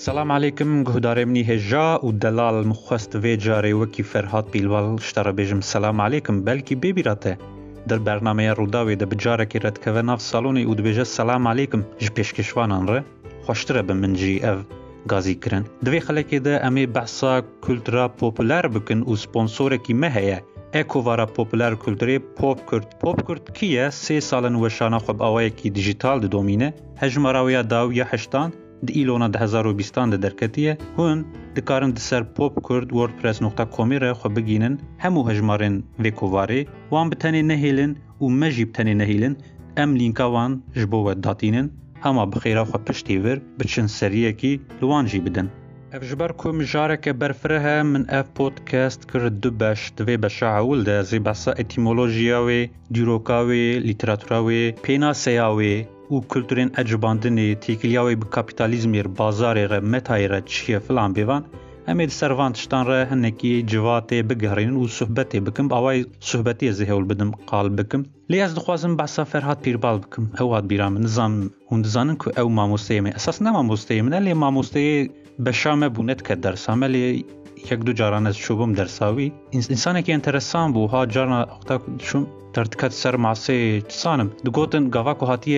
السلام عليكم قهداري مني هجا ودلال مخوست فيجاري وكي فرهاد بيلوال اشترى بيجم السلام عليكم بلكي بيبيراته در برنامه روداوي ده بجارك رد كفناف صالوني ود بيجا السلام عليكم جبيش كشوانان ره خوشتره بمنجي اف غازي كرن دوي خلقه ده امي بحثا كولترا پوپولار بكن و سپونسوره کی مهيه اکووارا پوپولار کلتوری پوپ کرد کیه 3 سالن وشانا خوب آوای کی دیجیتال ده دومینه هجمراویا داو یا هشتان د ایلونا 2020 ده درکتیه هون دکارن دسر popkurd wordpress.com را خو بگینن همو هجمارن ویکوواری وان بتنی نهیلن و مجی بتنی نهیلن ام لینکا وان جبو داتینن هما بخیرا خو پشتی ور بچن سریه کی لوان جی بدن اف جبركو مجارك برفرها من اف بودكاست كرد دبش دوي بشاعول ده زي بحثا اتيمولوجياوي ديروكاوي ليتراتوراوي بيناسياوي و كولتورين اجباندني تيكلياوي بكابيتاليزمير بازاري متايرة چيه فلان بيوان اميد سروانتشتان ره هنكي جواتي بگهرين و صحبتي بكم باواي صحبتي زهول بدم قال بكم لي از دخوازم بحثا فرهاد بيربال بكم هواد بيرام نظام هندزانن كو او ماموستيمي اساس نا ماموستيمي لي ماموستي بشامه بونت که درسامه لی یک دو جاران از شوبم درساوی انسانی که انترسان بو ها جارنا اختا شون ترتکت سر معصی تسانم دگوتن گاوا که هاتیه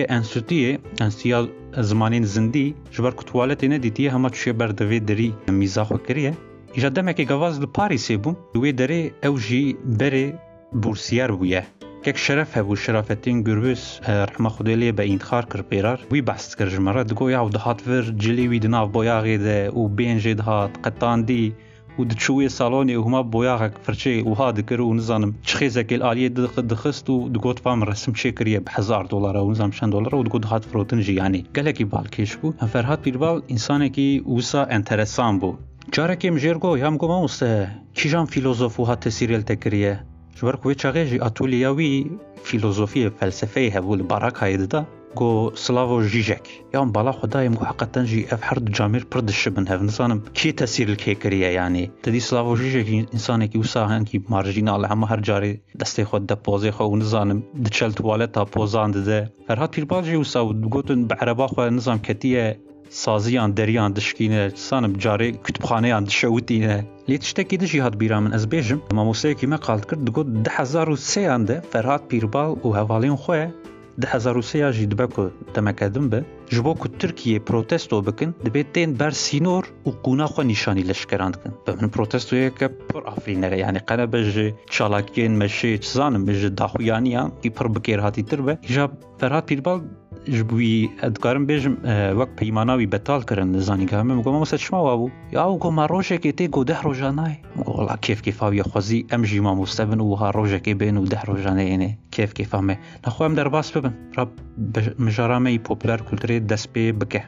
انستیا زمانین زندی جبر کتوالتی ندیتیه همه چوشه بردوی دری میزاخو کریه ایجا دمه که گواز لپاریسی بوم دوی دری او جی بری بورسیار بویه كيك شرف هبو شرافتين قربس رحمة خدالية بإنتخار كربيرار وي بحث كرجمرة دقو يعو دهات فر جلي وي دناف بوياغي ده و بين جي دهات قطان دي و دتشوية صالوني وهما بوياغك فرشي وها دكرو ونظانم تشخيزك الآلية دخست و دقوت فام رسم شكرية $1000 ونظام $100 و دقو دهات فروتنجي يعني قالكي بالكيش بو فرهاد بيربال إنسانكي وسا انترسان بو جاركي مجيرگو يام گو ماموسته كيجان فيلوزوف وها تسيريل تكريه جبرك ويتشاغي اتولياوي فيلوزوفيه فلسفيه هبول باراك هيدا جو سلافو جيجك يوم بالا خدايم جو حقا جي اف حرد جامير بردش بن هف نظام كي تسير الكيكريه يعني تدي سلافو جيجك انسانك وساهن كي مارجينال هم هر جاري دستي خود دبوزي خو نظام دچل تواليتا بوزاند ده فرهاد بيرباجي وسا گوتن بعربا خو نظام كتيه سازیان دریان دشکینه سانم جاری کتبخانه‌ان دشوتینه لیتشتکی دشی هات بیرامن از بیجم ماموسه کی مقالت کرد دگو 2003 انده فرهاد پیربال و حوالین خواه 2003 جی دبکو تمکدم به جبو که ترکیه پروتستو بکن دبیتین بر سینور و قونا خو نشانی لشکراند کن بمن پروتستو یک پر افرینه یعنی قنا بج چالاکین مشی چزانم بج داخویانیان کی پر بکیر هاتی تربه جاب فرهاد پیربال جبوی ادکارم بیجم وقت پیماناوی بتال کردن نزانی که همه مگم مثلا شما وابو یا او گم روزه که تی گو 10 روزانه مگم کیف آوی خوازی امجی ما مستبن و ها روزه که بین و 10 روزانه اینه کیف همه نخواهم در باس ببن رب مجرامه پوپولار کلتوری دست به بکه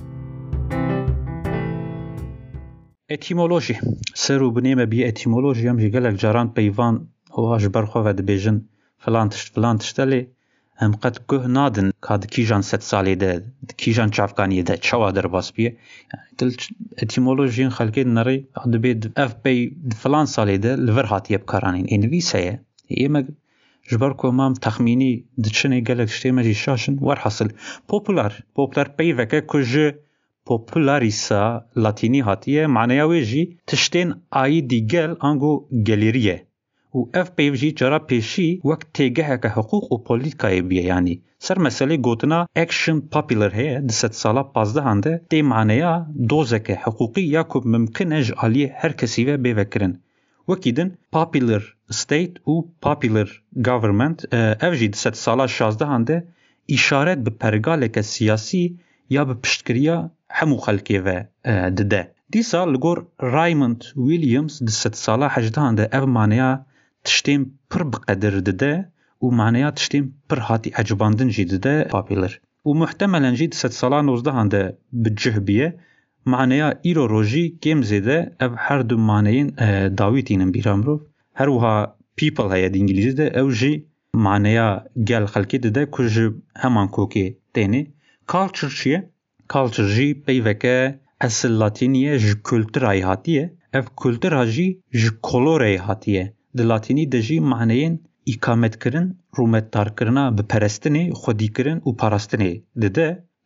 اتیمولوژی سرو بنیمه بی اتیمولوژی هم جگلک جاران پیوان هواش برخوا و دبیجن فلان تشتلی هم قد گه نادن کاد کیجان 7 سالی ده کیجان چافکانی ده چوا در باس بیه دل اتیمولوژین خلقی نری دبید اف بی فلان سالی ده لور هاتی بکارانین انویسه ایمه جبر کو مام تخمینی دچنه گلک شتیمه جی شاشن ور حاصل پوپولار بی وکه کج پوپولاریسا لاتینی هاتیه معنی جی تشتین آی دیگل انگو گلیریه و اف پیوجی جرا پیشی وقت تیگه که حقوق و پولیتیکای بیه یعنی سر مسئله گوتنا اکشن پاپولر هی 10 سالا 15 هنده دی معنیه دوزک حقوقی یا که ممکن اج آلی هر کسی و بیوکرن وکیدن پاپولر ستیت و پاپولر گاورمنت اف جی 10 سالا 16 هنده اشارت به پرگالک سیاسی یا به پشتگیری همو خلقی و دده دیسا لگور رایموند ویلیامز 10 سالا 18 هنده اف معنیه تشتیم پر بقدر دده و معنیات تشتیم پر هاتی عجباندن جی دده پاپولر و محتملا جی 10 سالا 19 هنده بجهبیه معنیات ایرو روژی کم زیده اف هر دو معنیین داویتینن بیرامرو هر وها people هیا دی انگلیزی ده او جی معنیات گل خلکی دده کج همان کوکی تینه کالچر چیه؟ کالچر جی پیوکه اصل لاتینیه ج کلترای هاتیه اف کلتر جی ج کلورای هاتیه د لاتینی دجی معنیین اقامت کرن رومت دار کرنا به پرستنه خودی کرن و پاراستنه دده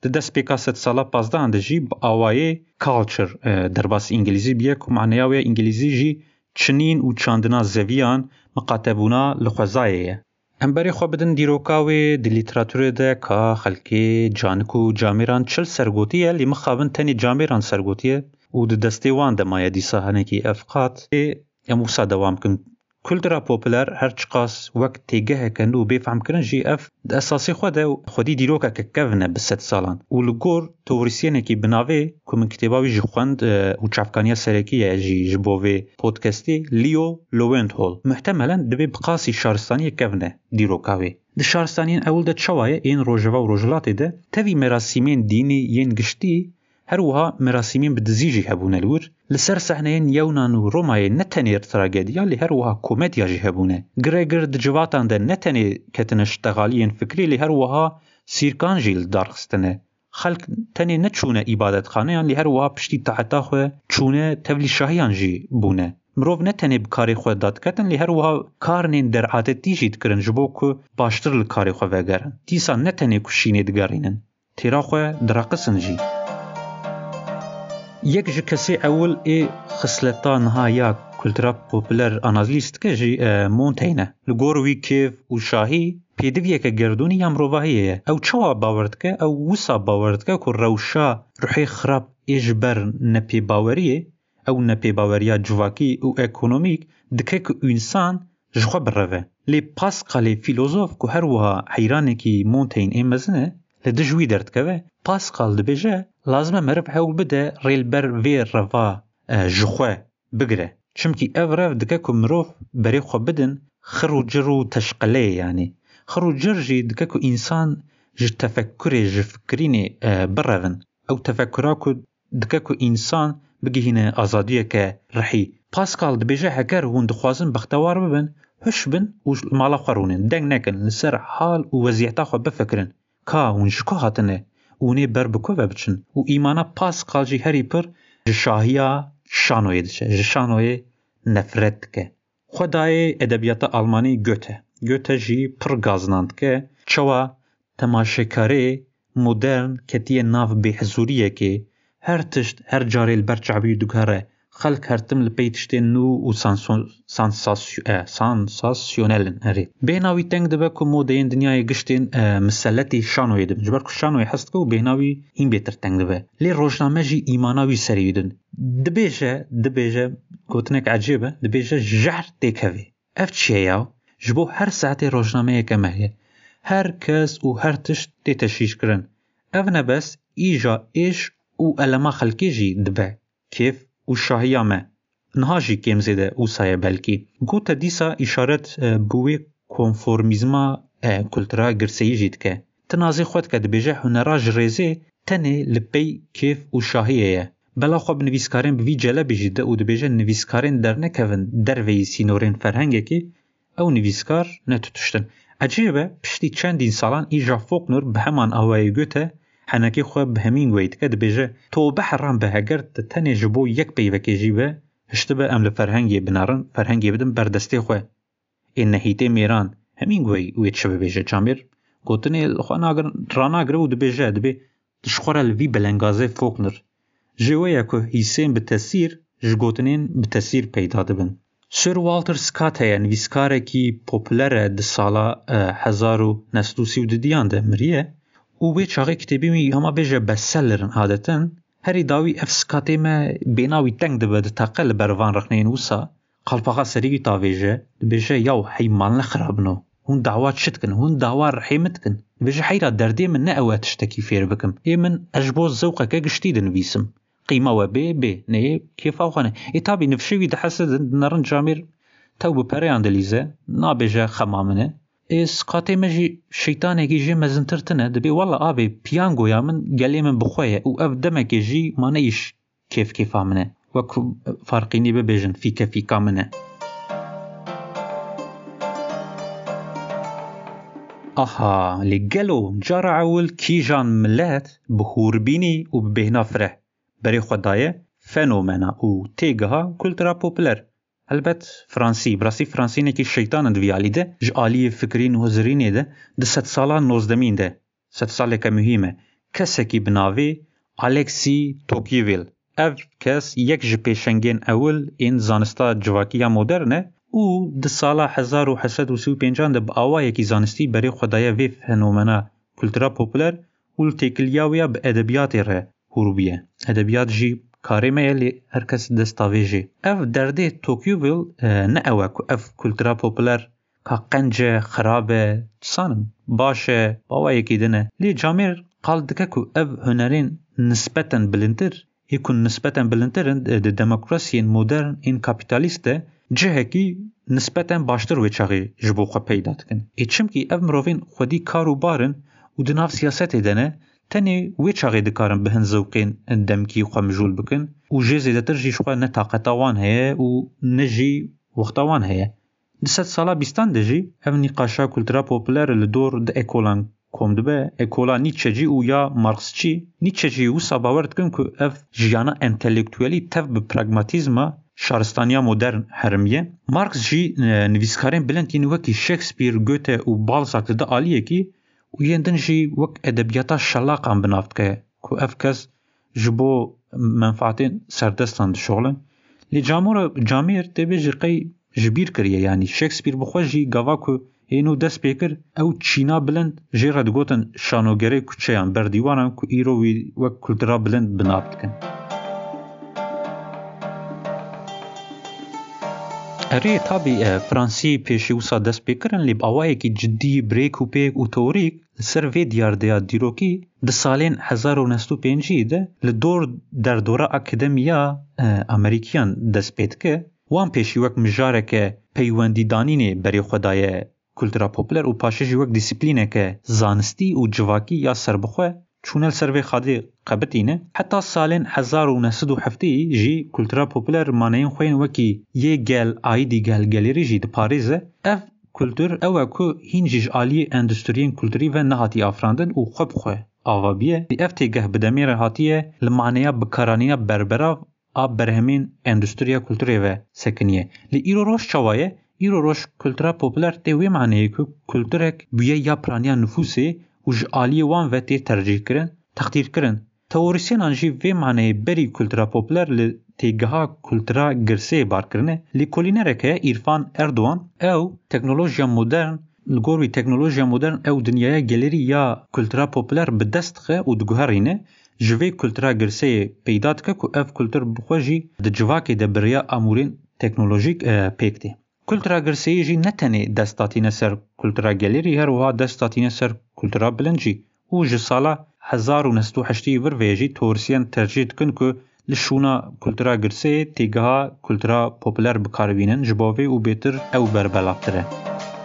دست پیکا ست سالا 15 ده جی آوای کالچر درباس انگلیزی بیه که معنیاوی انگلیزی جی چنین و چاندنا زویان مقاتبونا لخوزایه. هم برای خواه بدن دیروکاوی دی لیتراتوره ده که خلکی جانکو جامیران چل سرگوتیه لی مخابن تنی جامیران سرگوتیه و ده دستی وان ده مایه دیسا هنکی افقات اموسا دوام کن. کلترا پوپلر هر چقاس وقت تیگه کنو بفهم کرن جی اف ده اساسی خودی دیروکا که کونه بست سالان و لگور توریسیه نکی بناوه که من کتاباوی جی خوند و چافکانیا سرکیه جی جبوه پودکستی لیو لوینت هول محتملا دبی بقاسی شارستانی کونه دیروکاوی. ده شارستانین اول ده چوایه این روژوا و روژلاتی ده تاوی مراسیمین دینی ین گشتی هروها مراسمین بدزیجی هبونه لور لسر صحنهین یونان و رومای نتنی تراجدیا لی هروها کومدیا جی هبونه گریگر دجواتان ده نتنی کتنش تغالیین فکری لی هروها سیرکان جیل دارخستنه خلق تنی نچونه عبادت خانه لی هروها پشتی تحتا خو چونه تولی شاهیان جی بونه مروف نتنی بکاری خو داد کتن لی هروها کارنین در عادتی جید کرن جبو که باشتر لکاری خو وگرن دیسا نتنی کشینی دگارینن تیرا خو دراقسن جی. یک جکسی اول خصلتان ها کلترا پوپلر آنالیست که جی مونتینه لگوروی کیف و شاهی پیدویه که گردونی هم روواهیه او چوا باورد که او وسا باورد که روشا روحی خراب اجبر نپی باوریه او نپی باوریا جواکی و اکونومیک دکه که انسان جخوا بروه لی پاسقال فیلوزوف که هر وها حیرانه که مونتین مزنه لدجوی درد که پاسقال دبیجه لازمه مرب هول بده ریل بر وی روا جخوا بگره چمکی او رف دکه که مروف بری خو بدن خرو جرو تشقله یعنی خرو جر جی دکه که انسان ج تفکر ج فکرینه برون او تفکرها که دکه که انسان بگهینه آزادیه که رحی پاسکال دبیجه هگر هون دخوازن بختوار ببن هش بن و مالا خورونن دنگ نکن لسر حال و وضعیتا خو بفکرن که اون شکو هاتنه اونی بر بکو بچن و ایمانا پاسکال جی هری پر جشاهیا شانوی دشه جشانوی نفرت که خدای ادبیات آلمانی گوته جی پر گازناند که چوا تماشاکاری مدرن کتیه ناف بحضوریه که هر تشت هر جاری البرچعبی دوگاره خلق هرتم لپیتشتی نو و سانساسیونلن هری بیناوی تنگ دبه که مودین دنیای گشتین مسلتی شانوی دبن جبر که شانوی هست که و بیناوی این بیتر تنگ دبه لی روشنامه جی ایماناوی سریدن دبیجه گوتنک عجیبه دبیجه جهر تیکوی اف چیه یاو جبو هر ساعت روشنامه کمهیه هر کس و هر تشت تشیش کرن اف نبس ایجا ایش و علما خلقی جی دبه کیف و شاهیامه نهاجی کم زیده او سایه بلکی گوته دیسا اشارت بوی کنفورمیزما کلترا گرسیی جید که تنازی خود که دبیجه هنراج ریزه تنه لپی کیف و شاهیه بلا خواب نویسکارین بوی جلبی جیده و دبیجه نویسکارین در نکوین در وی سینورین فرهنگه که او نویسکار نتوتشتن عجیبه پشتی چندین سالان ایجا فوق نور به همان آوای گوته حنکی خواب به همین وید که دبیجه تو بحرام به هگرد تنه جبو یک پیوکی جیبه هشتبه ام لفرهنگی بنارن فرهنگی بدن بردستی خواه این نهیته میران همین وید شبه بیجه چامیر گوتنی خواه راناگره و دبیجه دبی دشخوره لوی بلنگازه فوق نور جوه که حیسین به تاثیر جگوتنین به تاثیر پیدا دبن سر والتر سکات هیا نویسکاره کی پوپلره ده سالا 1932 ده مریه او به چاقی کتابی می هما بیجه بسلرن عادتن هری داوی اف سکاتی ما بیناوی تنگ ده بده تاقل بروان رخنین وسا قلباقا سریگی تاویجه بیجه یاو حیمان لخرابنو هون دعوات شتکن هون دعوات رحیمتکن بیجه حیرا دردی من نه تشتکی فیر بکم ای من اجبوز زوقه که گشتی ده نویسم قیمه و بی نه کیف آوخانه ای تابی نفشوی ده حسد نرن جامیر تو بپره اندلیزه نابیجه خمامنه سقاطی مجی شیطانی کی جی مزنترتنه دبی والله آبی پیانگو یا من گلی من بخویه او اف دمکی جی ما نیش کیف آمنه وکو فرقینی ببیجن فیکا منه آها لگلو جارع اول کی جان ملت بخوربینی و ببهنا فره بری خدایه فنومنا او تیگها کلترا پوپلر البته فرانسی نکی شیطان دویالی ده جالی فکرین و زرینی ده 100 سالان 19 ده 100 ساله که مهمه کەسێکی بناوی ئالێکسی تۆکیڤیل. ev kes yek ji pêşengên ewil ên zanista civakiya modern e û di sala 1835 de bi awayekî zanistî berê xwe daye vê fenomena kultura popüler û li têkiliya wê ya bi edebiyatê re hûrbûye. Edebiyat jî karê me ye lê her kes destavêjê. Ev derdê Tocqueville ne ew e ku ev kultura popüler ka qenc e, xirab e, sanim baş e, bawayekî din e. Lê Camêr qal dike ku ev hunerên nispeten bilindtir ê ku nispeten bilindtirin di demokrasiyên modern ên kapitalîst de cihekî nispeten baştir wê çaxê ji bo xwe peyda dikin. Çimkî ev mirovên xwedî kar û barin û di nav siyasetê de ne tenê wê çaxê dikarin bi hin zewqên demkî xwe mijûl bikin û jê zêdetir jî ji xwe ne taqeta wan heye û ne jî wexta wan heye. Di sed sala bîstan de jî ev nîqaşa kultura popüler li dor di ekolan kom dibe, ekola Nietzschecî û ya Marxçî. Nietzschecî wisa bawer dikin ku ev jiyana entelektüelî tev bi pragmatîzma şaristaniya modern herimiye. Marx jî nivîskarên bilind yên wekî Shakespeare, Goethe û Balzac li de aliyekî û yên din jî wek edebiyata şelaqan binav dike ku ev kes ji bo menfaetên serdestan dişoxilin. Lê Camêr têbê ji qey ji bîr kiriye, yanî Shakespeare bi xwe jî gava ku hênû dest pê kir ew çîna bilind jê re digotin şanogerê kuçeyan berdîwanan ku îro wî wek kultura bilind binav dikin. Erê tabî Fransî pêşî wisa dest pê kirin lê bi awayekî ciddî birêk û pêk û teorîk li ser vê diyardeya dîrokî di salên 1905 de li dor derdora akademiya Amerîkiyan dest pê dike. Wan pêşî wek mijareke peywendîdanînê berê xwe daye kultura popüler û paşê jî wek dîsîplîneke zanistî û civakî ya serbixwe çûne li ser vê xadê qebitîne. Heta salên 1907 jî kultura popüler maneyên xwe yên wekî yê gel, aîdî gel, gelêrî jî diparêze. Ev kultur ew e ku hîn jî ji aliyê endüstriyên kulturî ve nehatiye afirandin û xwe bi xwe avabiye. Ev têgeh bi demê re hatiye li maneya bikaraniya berberav a berhemên endüstriya kulturê ve sekiniye. Li îro roj çawa ye? Îro roj kultura popüler tê wê maneyê ku kulturek bûye ya piraniya nüfusê û ji aliyê wan ve tê tercih kirin, teqdîr kirin. Teorisyenan jî vê maneyê berî kultura popüler li têgeha kultura girseyê barkirine. Lêkolînerek heye İrfan Erdoğan ew teknolojiya modern li gor wî teknolojiya modern ew dinyaya gelerî ya kultura popüler bi dest dixe û diguherîne. Ji vê kultura girseyê peyda dike ku ev kultur bi xwe jî di civakê de biriya amûrên teknolojîk pêk tê. Kultura girseyê jî ne tenê dest datîne ser kultura gelerî, her wiha dest datîne ser kultura bilind jî. û ji sala 1908 vir vê jî teorisyen tercih dikin ku li şûna kultura girseyê têgeha kultura popüler bikaribînin ji bo vê û bêtir ew berbelavtir e.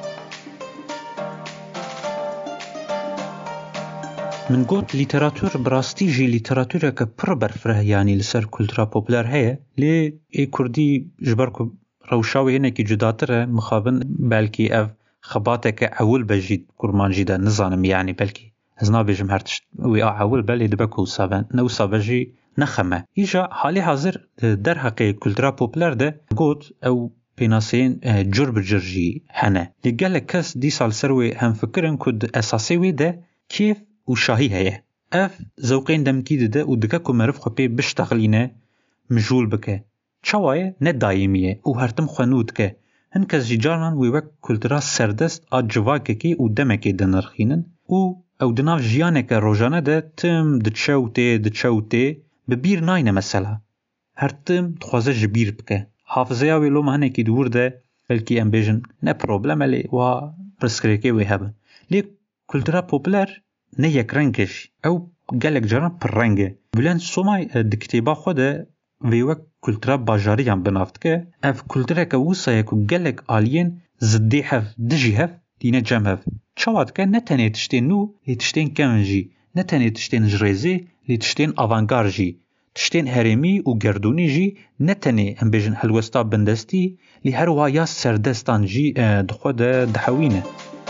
Min got lîteratûr bi rastî jî lîteratûreke pir berfireh yanî li ser kultura popüler heye. Lê ê Kurdî ji ber ku rewşa wê hinekî cudatir e, mixabin belkî ev xebateke ewil be jî kurman jî de nizanim, yanî belkî ez nabêjim her tişt wê a ewil be lê dibe ku wisa be ne wisa be jî nexeme. Îja halê hazir derheqê kultura popüler de got ew pênaseyên cur bi cur jî hene. Lê gelek kes dîsa li ser wê hemfikirin ku di esasê wê de kêf û şahî heye. Ev zewqên demkî dide û dike ku meriv xwe pê biştexilîne, mijûl bike. Çawa ye ne daîmî ye û her tim xwe nû dike. Hin kes jî caran wê wek kultura serdest a civakekê û demekê dinirxînin û ew di nav jiyaneke rojane de tim diçe û tê bi bîr nayne mesela. Her tim dixwaze ji bîr bike. Hafızeya wê loma hinekî dûr de belkî em bêjin ne problem e lê wa pirsgirêkê wê hebe. Lê kultura popüler ne yekreng e jî. Ew gelek caran pirreng e. Bülent Somay di kitêba xwe de vê wek kultura bajariyan binav dike. Ev kultureke wisa ye ku gelek aliyên ziddê hev dijî hev dîne cem hev. Çawa dike ne tenê tiştên nû lê tiştên kevn jî. Ne tenê tiştên ji rêzê lê tiştên avantgard jî. Tiştên herêmî û gerdûnî jî ne tenê em bêjin helwesta bindestî lê her wiha ya serdestan jî di xwe de dihewîne.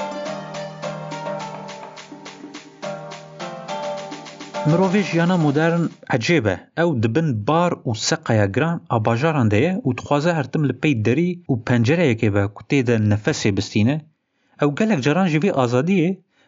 Mirovê jiyana modern ecêb e. Ew dibin bar û seqeya giran a bajaran de ye û dixwaze her tim li pey derî û pencereyekê be ku tê de nefesê bistîne. Ew gelek caran ji vê azadiyê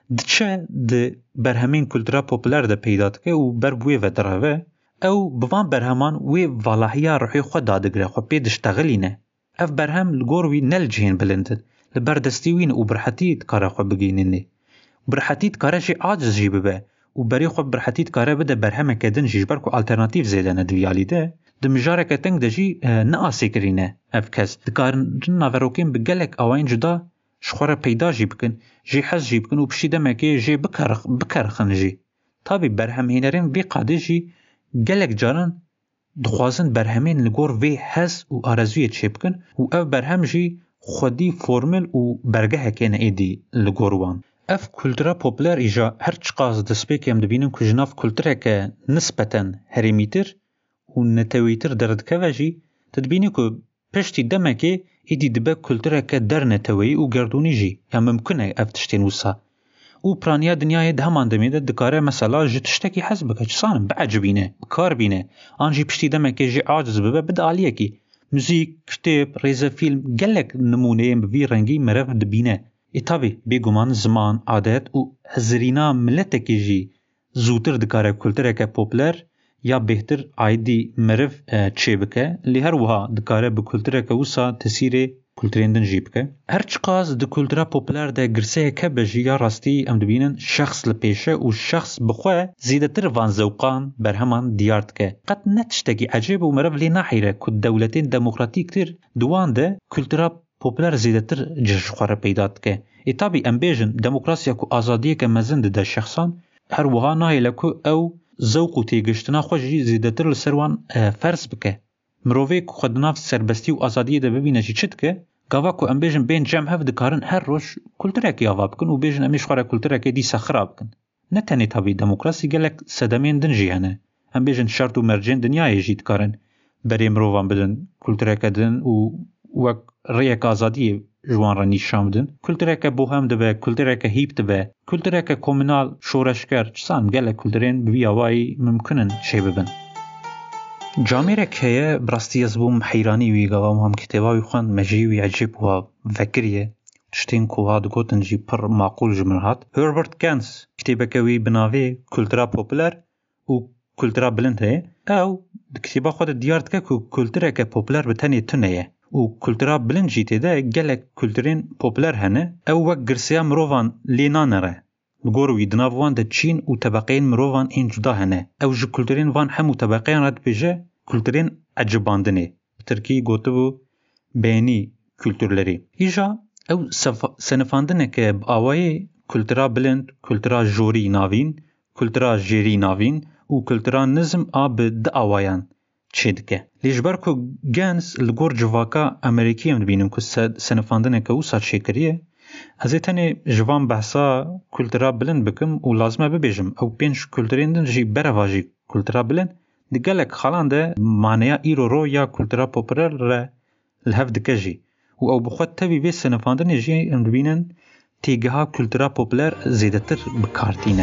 دچه د برهمین کلتورا پوپولار ده پیدا دکه و بر بوی و دراوه او بوان برهمان وی والاحیا روحی خود دادگره خود پیدش تغلینه اف برهم لگور وی نل جهین بلندن لبردستی وین و برحتید کاره خود بگیننه برحتید کاره جی عاجز جی ببه و بری خود برحتید کاره بده برهمه کدن جیش برکو آلترناتیف زیدنه دویالی ده دمجاره کتنگ ده جی ناسی کرینه اف کس دکارن ناوروکین بگلک آوین جدا شخوره پیدا جی بکن جی حز جی بکن و پشی دمکی جی بکرخن جی تابی برهم هینرین وی قاده جی گلک جارن دخوازن برهمین لگور وی حز و آرزوی چه بکن و اف برهم جی خودی فرمل و برگه هکین ایدی لگوروان اف کلتورا پوپولار ایجا هر چقاز دسپیک هم دبینن که جناف کلتوره که نسبتاً هریمیتر و نتویتر دردکه و جی تدبینی که پشتی دمکی ایدی دبه کلتوره که در نتوی و گردونی جی یا ممکنه اف تشتین وسا و پرانیا دنیای ده همان دمیده دکاره مثلا جی تشتکی حز بکه چسانم بعجبینه بکار بینه آنجی پشتی دمکی جی عاجز ببه بده آلیه کی موزیک، کتاب، ریزه فیلم گلک نمونه بوی رنگی مرف دبینه ایتابی بیگمان زمان عادت و هزرینا ملتکی جی زودتر دکاره کلتوره که پوپولار یا بهتر آیدی مرف چه بکه لی هر وها دکاره به کلتوره که وسا تسیره کلتورندن جی بکه هر چقاز د کلتورا پوپولار ده گرسه که بجی یا راستی ام دبینن شخص لپیشه و شخص بخواه زیدتر وان زوقان برهمان دیارد که قد نتشتگی عجیب و مرف لی نحیره که دولتین دموکراتیک تر دوان ده کلتورا پوپولار زیدتر جش خواره پیداد که ایتابی ام بیجن دموکراسیا که آزادیه که مزند ده شخصان هر وها نایله که او زوق و تیگشتنا خوشی زیدتر لسروان فرس بکه مروفی که خودناف سربستی و آزادیه ده ببینه چی چید که گاوا که ام بیجن بین جمع هف دکارن هر روش کلتوره که آوا بکن و بیجن امیش خواره کلتوره که دی سخرا بکن نه تنی تابی دموکراسی گلک صدمین دن جیهنه ام بیجن شرط و مرجن دنیای جید کارن بری مروفان بدن کلتوره که دن و وک ریک آزادی جوان را نیشان بدن کلتوره که بوهم دبه کلتوره که هیب دبه کلتوره که کومنال شورشگر چسان گلک کلتورین بوی آوائی ممکنن چه ببن جامعه که براستی از بوم حیرانی وی گوام هم کتابی خوان مجیوی عجیب و فکریه تشتین که ها دگوتن جی پر معقول جمرهات هربرت گانس کتابه که وی بناوی کلتورا پوپولار و کلتورا بلند هی او کتابه خود دیارد که کلتورا که پوپولار بتنی تنه و کلتورا بلند جیته ده گلک کلتورین پوپولار هنه او وک گرسیا مروفان لینانره لگوروی دناوان ده چین و طبقین مروفان این جدا هنه او جو کلتورین وان همو طبقین رد بیجه کلتورین عجباندنه ترکی گوته بو بینی کلتورلری ایجا او سنفاندنه که آوای کلتورا بلند کلتورا جوری ناوین کلتورا جیری ناوین و کلتورا نظم آب ده آوایان چه دکه لیجبر که گنس لگور جواکا امریکی هم بینیم که سنفاندنه که او سا چه کریه از ایتانی جوان بحثا کلتورا بلند بکم و لازمه ببیجم او پینش کلتوریندن جی برواجی کلتورا بلند دگلک خالان ده معنی ایرو رو یا کلتورا پوپولار را الهف دکه جی و او بخواد تبی وی سنفاندن جی ام بینن تیگه ها کلتورا پوپولار زیدتر بکارتینه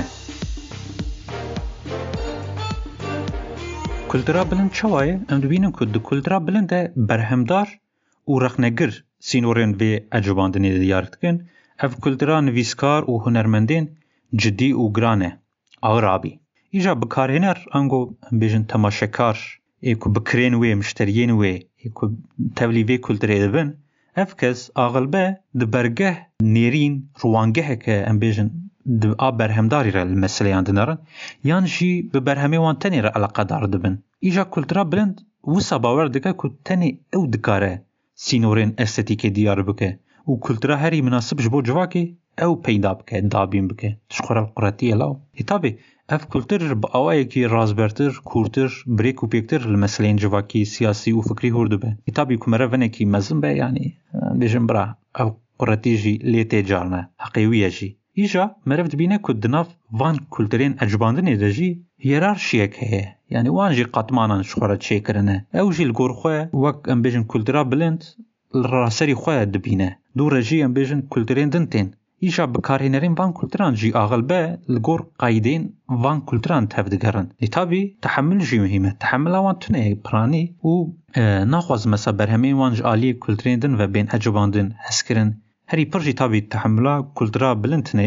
کلتورا بلند چوایه ام بینن که دو کلتورا بلند ده برهمدار و رخنگر سینورین وی عجباندنی دیارت کن اف کلتورا نویسکار و هنرمندین جدی و گرانه آغرابی ایجا بکارهنر انگو بیجن تماشاکار ایکو بکرین وی مشترین وی ایکو تولیوی کلتوری دبن اف کس آغلبه دبرگه نیرین روانگه که ام بیجن آب برهمداری را المسئله یاندنارن یان جی ببرهمی وان تنی را علاقه دار دبن ایجا کلتورا بلند وسا باور دکه که تنی او دکاره سینورین استتیکی دیار بکه و کلتورا هری مناسب جبو جواکی او پیدا بکه دابین بکه تشخور القراتیه لاو ایتابی اف کلتور با آوائي کی رازبرتر کورتر بریک و پیکتر المسئلین جواکی سیاسی و فکری هرده به ایتابی کمره ونه کی مزن به یعنی بیجن برا او قراتی جی لیتی جارنه حقیویه جی ایجا مرف دبینه که دناف وان کلتورین اجباندنه ده جی هیرارشیه که یعنی وان جی قطمانان شخوره چه کرنه او جی لگور خواه وک ام بیجن کلتورا بلند راسری خواه دبینه دو رجی ام بیجن کلتورین دنتین ایجا بکارهنرین وان کلتران جی آغلبه لگور قایدین وان کلتران تفدگرن لطابی تحمل جی مهمه تحمل وان تونه پرانی و ناخواز مسا برهمین وان جالی کلترین دن و بین عجباندن هسکرن هری پر جی تابی تحمل کلترا بلند تنه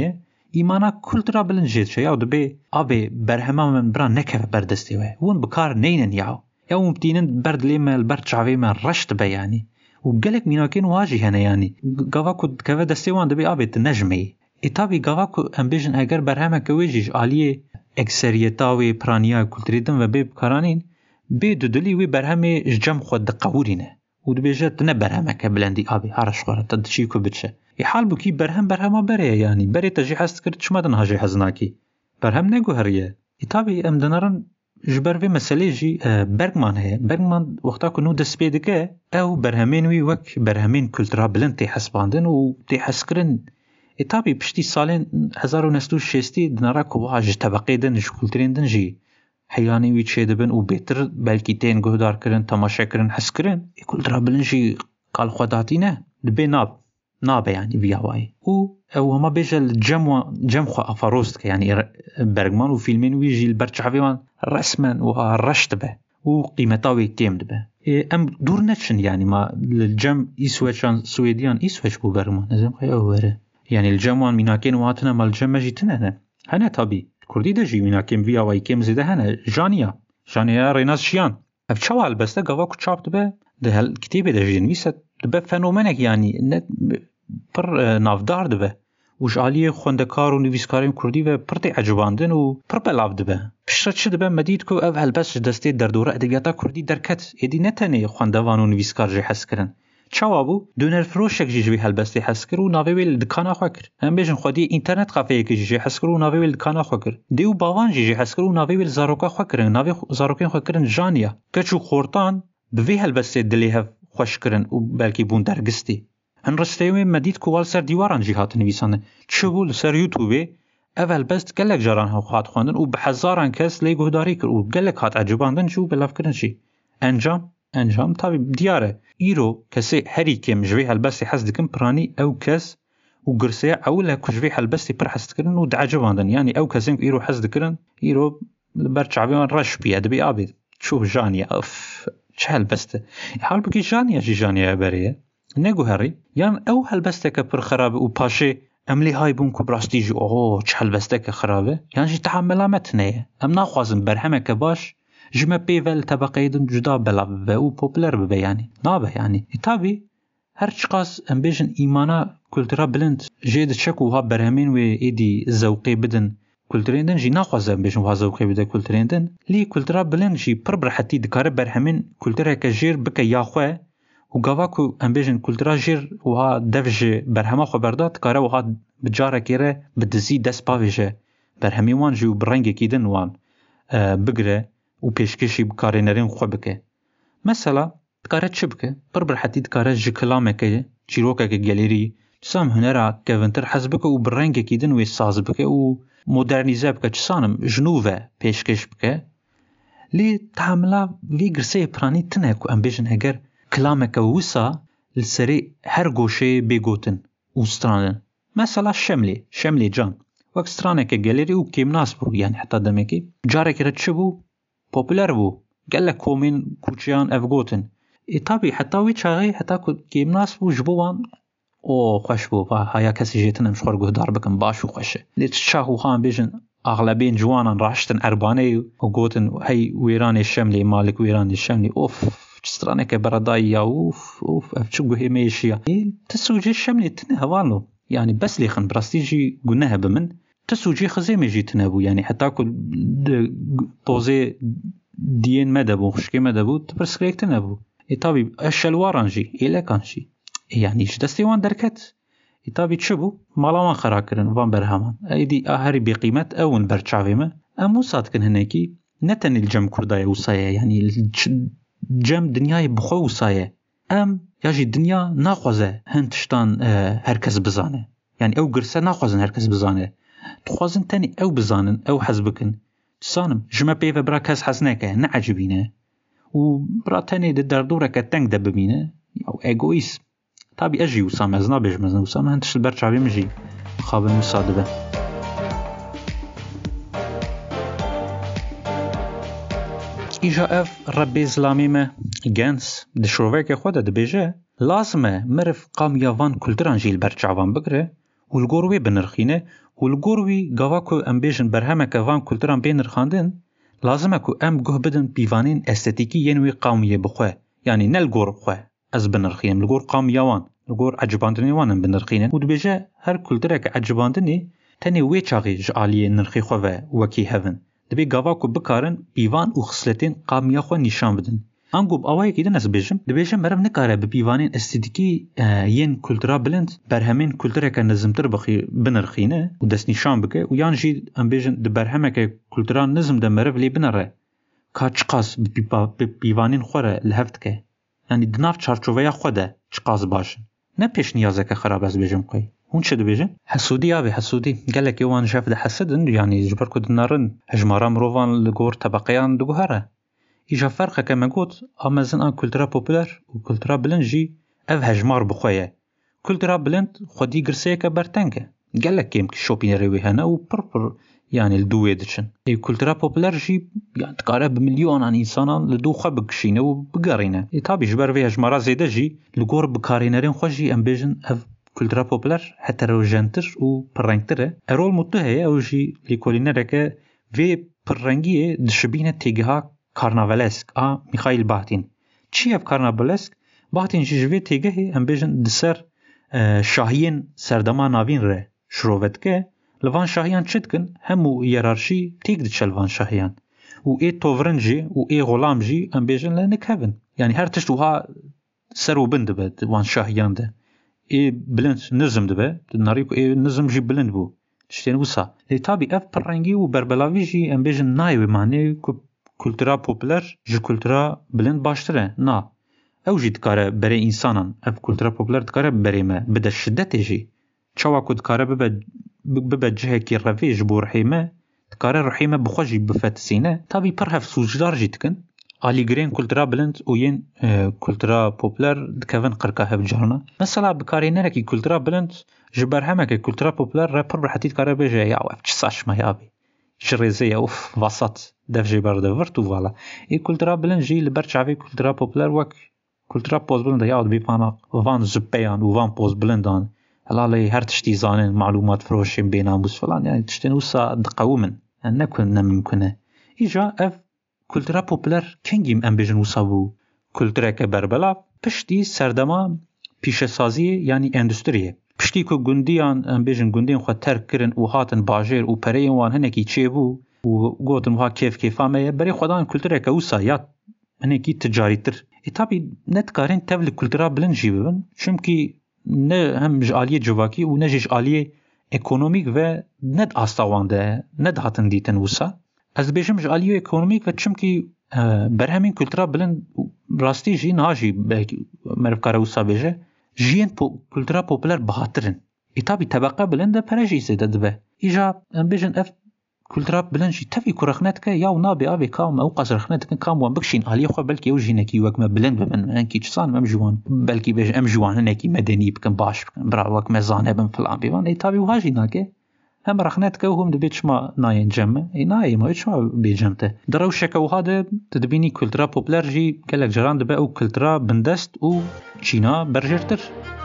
ایمانا کلترا بلند جید شه یا دبی آبی برهما من برا نکه بردستی وی ون بکار نینن یاو یا مبتینن برد لیمل برد چاوی من رشت به یعنی و گلک میناکین واجی هنه یعنی گاوا کد که دستی وان دبی آبی تنجمی ایتابی گاوا کد امبیجن اگر برهما که ویجیش آلیه اکثریتاوی پرانیا کلتری دن و بی بکارانین بی دودلی وی برهمی جمع خود دقورینه و دبیجت نه برهما که بلندی آبی هرش خوره تدشی که بچه حال بکی برهما بره یعنی بری تجی حست کرد چما دن هاجی حزناکی برهم نگو هریه ایتابی ام دنارن جبر وی مسئله جی برگمان هی برگمان وقتا کنو دست پیده که او برهمین وی وک برهمین کلترا بلند تی حسباندن و تی حس کرن ایتابی پشتی سالین 1960 دنارا کواج طبقه دن جو کلترین دن جی حیانی وی چه دبن و بهتر بلکی تین گهدار کرن تماشا کرن حس کرن کلترا بلند جی قال خوداتی نه دبی نابه يعني بيهواي او هما بيجا الجم خو افروست يعني برغمان وفيلمين ويجي البرچاويوان رسما ورشت به وقيمتاوي تيمد به ام دور نتشن يعني ما الجم يسويشان سويديان يسويش بو برغمان لازم خيا يعني الجموان ميناكين واتنا مال الجم جيتنا هنا طبي كردي دجي ميناكين بيهواي كيم زيده هنا جانيا ريناس شيان افشوال بس ده قواكو تشابت به ده الكتيبه دجي نويست به فنومنك يعني پر نافدار دبه وش عالیه خوندکار و نویسکاریم کردی و پرتی عجباندن و پر بلاف دبه پشت چه دبه مدید که او هلبس دسته در دوره ادبیاتا کردی درکت ایدی نتنه خوندوان و نویسکار جی حس کرن چوابو دونر فروشک جی هلبستی حس کر و ناوی ویل دکانا خوا کر هم بیشن خودی اینترنت کافه که جی حس کر و ناوی ویل دکانا خوا کر دیو باوان جی حس کر و ناوی ویل زاروکا خوا کرن ناوی زاروکین خوا کرن جانیا کچو خورتان به هلبستی دلیه خوش کرن و بلکی بون درگستی هن رستيوي مديد كوال سر ديواران جهات نويسانه تشبول سر يوتيوبي اول بس قالك جاران ها خاط خواندن و بحزاران کس لی گهداری کر و قالك هات عجباندن جو بلاف کرن شي انجام طبي دياره ايرو كسي هري كم جوي هالبس حس دكم براني او كس و قرسي اولا كجوي هالبس پر حس کرن و عجباندن يعني او كسين ايرو حس دكرن ايرو برچاويان رش بي ادبي ابي شوف جانيا اف چهل بسته حال بكي جانيا بريه نگو هری یان او هلبسته که پر خرابه و پاشه املی های بون که براستی جو اوه چه هلبسته که خرابه یان جی تحملامت نیه ام ناخوازم برهمه که باش جمع پیول طبقه دن جدا بلا ببه و پوپلر ببه یعنی نابه یعنی تابی هر چقاس ام بیشن ایمانا کلترا بلند جید چک و ها برهمین و ایدی زوقی بدن کلترین دن جی ناخوازم بیشن و ها زوقی بده کلترین دن لی کلترا بلند جی پر برحتی دکاره برهمین کلترا که جیر بکه یاخوه و گاواکو امبیجن کلترا جیر وها دفج برهما خبرداد کاره وها بجاره کیره بدزی دست باویجه برهمی وان جو برنگ کیدن وان بگره و پیشکشی بکاره نرین خواه بکه مثلا کاره چه بکه برحتی کاره جی کلامه که چیروکه که گلیری سام هنرا که ونتر حزبکه و برنگ کیدن و ساز بکه و مدرنیزه بکه چسانم جنوبه پیشکش بکه لی تحملا وی گرسه پرانی تنه که امبیجن اگر كلامك وسا لسري هر گوشه بيگوتن وسترانن مثلا شملي جان وقت سترانك گاليري و كيم ناس بو يعني حتى دمكي جارك رتش بو پوپولر بو قال كومين كوچيان افگوتن طبي حتى وي چاغي حتى كيم ناس بو جبوان او خوش بو هيا كسي جيتن مشخور گهدار بكن باشو خوشه لتشاهو خان بيجن اغلبين جوانان راشتن ارباني وگوتن هي ويراني الشملي مالك ويراني الشملي اوف سترانه که برادایی اوف افچو گوهی میشیا تسوجی شملی تنه هوالو يعني بس ليخن براستيجي قلناها بمن تسوجي خزي ميجي تنابو يعني حتى كل طوزي دين مدبو خشكي مدبو تبرسكريك تنابو طبي الشلوارانجي إلا كانشي يعني جدستي وان دركت طبي تشبو مالاوان خراكرن وان برهمان ايدي اهري بقيمة اون برچاويمه امو صادقن هناكي نتن الجم كردايا وصايا يعني الجم دنياي بخو وصايا ام ياجي الدنيا ناخوزه هنتشتان هركز بزانه يعني او قرسه ناخوزن هركز بزانه تخوزن تاني او بزانن او حزبكن تسانم جمع بيفا برا كاس حسناكه نعجبينه وبرا تاني دردورك تنك دببينه او ايغويس طبي اجي وسام ازنا بجمزنا وسام هنتش البرچاوي مجي خابن مصادبه إجا اف ربي زلاميمه جنس دشروفيك خود دبيجه لازمه مرف قام يافان كولتران جيل برچاوان بگره والگوروي بنرخينه و لگور وی گاوا کو ام بیجن برهمک وان کلتوران بین رخاندن لازمه کو ام گوه بدن پیوانین استتیکی ینوی قومیه بخواه یعنی نه لگور خواه از بنرخیم لگور قومیوان لگور عجباندنی وانن بنرخینن و دبیجه هر کلتورک عجباندنی تنی وی چاقی جعالی نرخی خواه وکی هفن دبی گاوا کو بکارن پیوان و خصلتین قومیا خواه نشان بدن انگوب اوای کی دنس بیجم مرم نکاره به پیوانین استتیکی ین کلتورا بلند برهمین کلتورک نظمتر بخی بنرخینه و دست نشان بکه و یان جی ام بیجن د برهمک کلتورا نظم د مرو لی بنره کا چقاس به پیوانین خوره لهفت که یعنی دناف چارچوبه خوده چقاس باشن نه پیش نیازه که خراب از بیجم کوي هون چه دبیجن حسودی آبی حسودی گلک یوان شاف ده حسدن یعنی جبر کد نارن هجمارا مروان لگور طبقیان دگوهره ایجا فرقه که مگوت آمازن آن کلتورا پوپولر و کلتورا بلند جی او هجمار بخواه کلتورا بلند خودی گرسه که برتنگه گلک کم که شوپینه روی هنه و پر یعنی لدوه دچن ای کلتورا پوپولر جی یعنی تکاره بملیون آن انسانان لدو خواه بکشینه و بگارینه ای تابی جبر وی هجمارا زیده جی لگور بکارینرین خواه جی ام بیجن او کلتورا پوپولر هتروجنتر و پررنگتره ارول متوهه او جی لیکولینره که وی پررنگیه دشبینه تیگه کارناوالسک میخائیل باهتین چی اف کارناوالسک باهتین جوی تیگه ام بیجن دسر شاهین سردما ناوین ره شروعت که لوان شاهیان چتکن همو یرارشی تیگ دچ لوان شاهیان و ای توورنجی و ای غلام جی ام بیجن لنک هفن یعنی هر تشت وها سر و بند بد وان شاهیان ده ای بلند نظم ده ناریکو ای نظم جی بلند بو تشتین وسا لی تابی اف پررنگی و بربلاوی جی ام بیجن نایوی معنی کلتورا پوپولر جی کلتورا بلند باشتره نا او جی دکاره برای انسانان اف کلتورا پوپولر دکاره برای ما بده شدت جی چوا که دکاره ببه جهه کی رویج بو رحیمه دکاره رحیمه بخوشی بفتسینه تابی پر هف سوجدار جی دکن آلی گرین کلتورا بلند و ین کلتورا پوپولر دکوون قرکا هف جارنا مثلا بکاری نرکی کلتورا بلند جبر همه که کلتورا پوپولر را پر برحتی دکاره بجه یا اف چه ساشمه یا بی شريزية اوف وسط دفجي برده ورتو والا اي كولترا بلند جي لبرچاوي كولترا پوپولر وك كولترا پوز بلند ياود بيپانا وان زبيان وان پوز بلندان هلالي هر تشتي زانن معلومات فروشين بيناموس فلان يعني تشتين وسا دقومن نكون نممكنه ايجا اف كولترا پوپولر كنگيم ام بيجن وسا بو كولترا كبربلا پشتي سردما پیشه سازی یعنی اندستریه پشتی که گندیان ام بیجن گندیان خود ترک کرن و هاتن باجر و پرین وان هنکی چه بو و گوتن وها کیف کیفامه برای خدان کلتوره که وسا یا هنکی تجاری تر اتابی نتکارن تبل کلتورا بلند جی ببن چونکی نه هم جعالیه جواکی و نه جعالیه اکونومیک و ند آستاوانده ند هاتن دیتن وسا از بیجم جعالیه اکونومیک و چونکی برهمین کلتورا بلند راستی جی ناجی مرف کاره وسا بیجه جین کلتورا پوپولر بهاترن ایتابی طبقه بلنده پرجی زده دبه ایجا ام بیجن اف کلتورا بلند جی تفی کرخنت که یا نابی آبی کام او قصرخنت که کام وان بکشین آلی خو بلکی او جینکی وک ما بلند بمن انکی چسان ام جوان بلکی بیج ام جوان هنکی مدنی بکن باش بکن برا وک مزانه بم فلان بیوان ایتابی واجی ناکه هم رخنت که هم دبی چما ناین جمع ای نای ما چما بیجمته درو شکو هاده تدبینی کلتورا پوپولر جی گلک جران دبه او کلتورا بندست او چینا برجرتر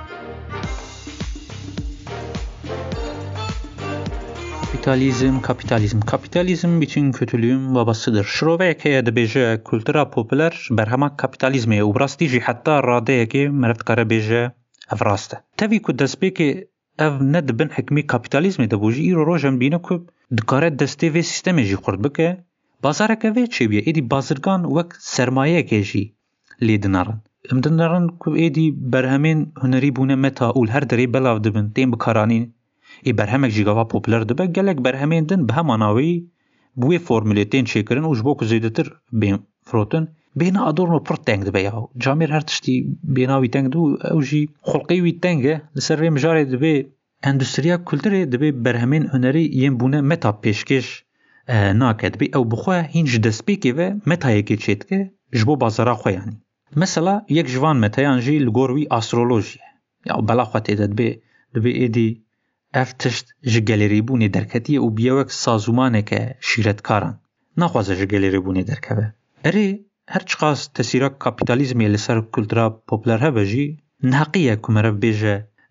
Kapitalizm bütün kötülüğün babasıdır. Şroveke de beje kültüra popüler berhama kapitalizme u rasti ji hatta radeye ki merftkare beje evraste. Tavi ku despeki ev ne dibin hikmi kapitalizme de boji iro rojem bine ku dikare deste ve sisteme ji kurd bike bazareke ve çebiye edi bazırgan vek sermaye ke ji lidinaran. Emdinaran ku edi berhemin huneri bune meta ul her deri belav dibin tem bikaranîn ای برهمک جیگاوا پوپولر دبه گلک برهمین دن به هماناوی بوی فرمولیتین چیکرن و جبو که زیدتر بین فروتن بین آدورنو پر تنگ دبه یاو جامیر هر تشتی بیناوی تنگ دو او جی خلقیوی تنگه لسر وی مجاره دبه اندستریا کلتره دبه برهمین هنری یم بونه متا پیشکش ناکه دبه او بخواه هینج دسپیکی و متایی که چید که جبو بازارا خواه یعنی مثلا یک جوان متایان جی لگوروی آسترولوژیه یا بلا خواه تیده دبه ایدی افتشت جگلیری بونی درکتیه و بیاوک سازومانه که شیرتکاران نخوازه جگلیری بونی درکوه اره هرچقاس تسیرک کپیتالیزمی لسر کلتورا پوپولر هبه جی نحقیه کمره بیجه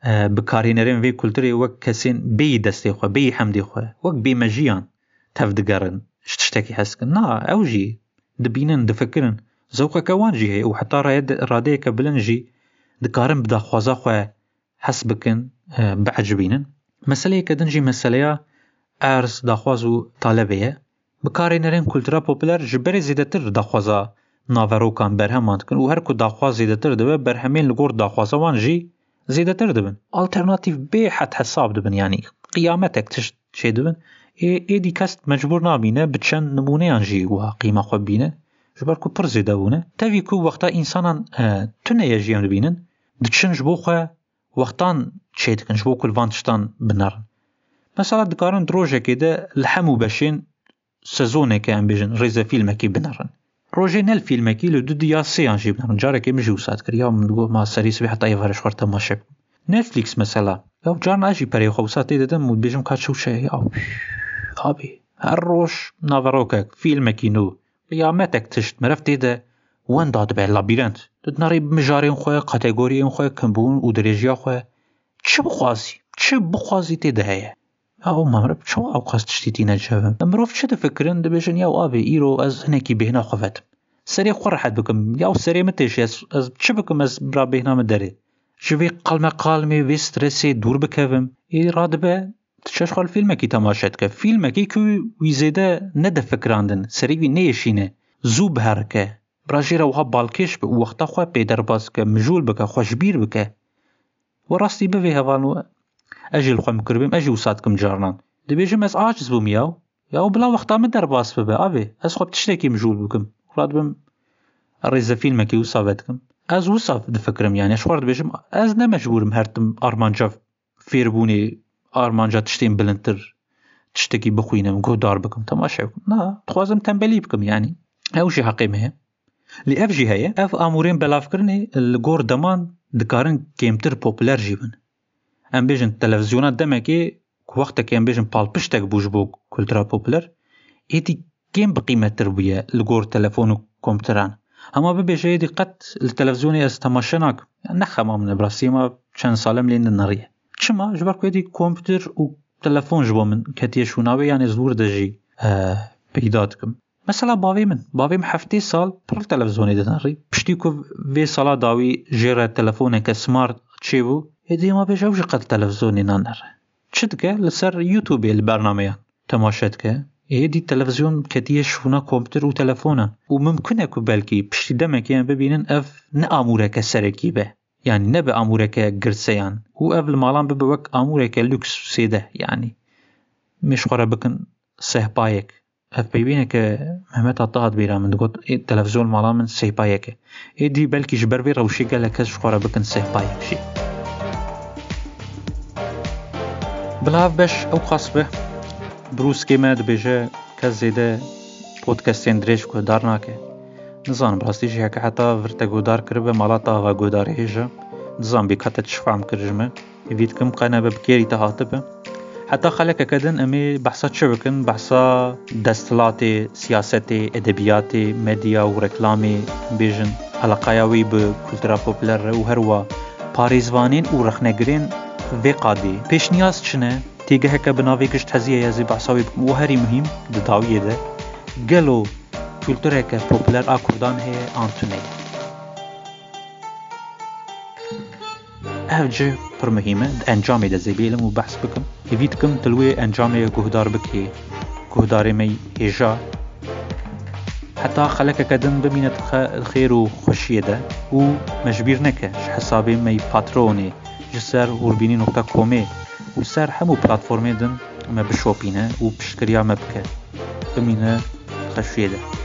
بکارینەرێن وێ کولتورێ وەک کەسێن بێی دەستێ خۆ بێی حەمدێ خۆ وەک بێمەژیان تەف دگەڕن شتێکی هەستکن نا ئەوژی دبینن دفکرن زەوقەکە وانجی هەیە و حتا ڕادەیەکە بلنجی دکارن بداخوازا خۆ حەس بکن بەعجبینن مەسەلەیەکە دنجی مەسەلەیە ئارز داخواز و تالەبەیە بکارینەرێن کولتورا پۆپولەر ji berê zêdetir daxwaza naverokan berheman dikin û her ku daxwaz zêdetir dibe berhemên li gor daxwaza wan jî zêdetir dibin alternatîv bê hed hesab dibin yanî qiyametek tişt çê dibin êdî kes mecbûr nabîne bi çend nimûneyan jî wiha qîma xwe bîne ji ber ku pir zêde bûne tevî ku wexta însanan tuneye jiyem dibînin diçin ji bo xwe wextan çê dikin ji bo ku li van tiştan binerin mesela dikarin rojekê de li hemû beşên sezoneke em bêjin rêze fîlmekî binerin rojê nel fîlmekî li du ya sêyan jî binerin carekê min jî wisa dikir ya min digot ma serî sibê heta êvarê ji xwe temaşe bikim Netflix mesela ya carna ez jî perê xwe wisa tê didim û dibêjim ka çewşe ya abî her roj naverokek fîlmekî nû qiyametek tişt mirev tê de wenda dibe labîrent tu dinarî mijarên xwe kategoriyên xwe kimbûn û dirêjiya xwe çi bixwazî tê de heye او مرب چه اوقات تشتیتی نجابم امروف چه تفکرن دبیجن یا آبی ایرو از هنکی بهنا خوفتم سری خور حد بکم یا سری متش از چه بکم از برا بهنا مداره جوی قلمه وی استرسی دور بکوم ای راد به تشش خال فیلم کی تماشات که فیلم کی که وی زیده نده فکراندن سری وی نیشینه زوب هرکه براجی رو ها بالکش به وقتا خو پیدر باز که مجول بکه خوشبیر بکه و راستی به هوانو اجل خو مکربم اجي وساتكم جارنان دبيجم از عاجز بوم ياو بلا وقتا من درباس ببا ابي از خو بتشتكي مجول بكم رادبم الريزه فيلمكي وصابتكم از وصف دفكرم يعني شوار دبيجم از نمجبورم هرتم ارمانجا فيربوني ارمانجا تشتين بلنتر تشتكي بخوينم قدار بكم تماشا نا تخوازم تنبلي بكم يعني اوشي حقيمه لي اف جي هي اف امورين بلافكرني الغور دمان دكارن كيمتر بوبولار جيبن ام بيجن تلفزيونات دمكي وقتك ام بيجن بالبشتك بوجبو كولترا بوبولار ايدي كيم بقيمة تربية لغور تلفون و كمبيوتران اما ببيجي دي قد التلفزيوني از تماشناك نخما من براسي ما چند سالم لين النارية چما جباركو يدي كمبيوتر و تلفون جبو من كتيشوناوي يعني زور دجي بيداتكم مثلا باوي حفتي سال پر تلفزيوني دناري بشتيكو في سالا داوي جيرا تلفونك سمارت تشيبو هدي ما بيجوش قد تلفزيوني نانر شدك لسر يوتيوب البرنامج تماشتك هدي تلفزيون كتيش شونا كمبيوتر وتلفونه وممكن اكو بالكي بشتي دمك يعني ببينن اف نامورك سركيبه يعني نبي امورك قرسيان و اف المالان ببوك امورك لوكس سيده يعني مش خرا بكن سهبايك اف بيبينك مهمت عطاهد بيرا من دقوت التلفزيون مالان من سهبايك هدي بالكي جبر بي روشي قال لك خرا بكن سهبايك شي بلاف بش او قصبه بروس كيما دبيجه كزيده بودكاستين دريج گودار ناکه نزان براستی جه که حتی ورته گودار کرده مالاتا و گودار هیجا نزان بی کات تشفعم کرجمه وید کم قناه ببکیری تهاتبه حتی خلک کدن امی بحثا چه بکن بحثا دستلات سیاست ادبیات مدیا و رکلامی بیجن علاقایاوی به کلتورا پوپولار و هروا پاریزوانین و رخنگرین وی قادی پیش نیاز چنه تیگه که بناوی کشت هزیه یزی بحثاوی بکن و هری مهم دداویه ده گلو کلتوره که پوپولار آکردان هی آنتونه اوجه پر مهمه ده انجامه ده زیبیلم و بحث بکم هیوید کم تلوی انجامه گهدار بکی گهداره می هیجا حتی خلک کدن ببیند خیر و خوشیه ده و مجبیر نکه حسابی می پاترونه جسر وربینی نقطه کومه و سر همو پلاتفورمه دن ما بشوپینه و پشکریا مبکه بمینه خشویه ده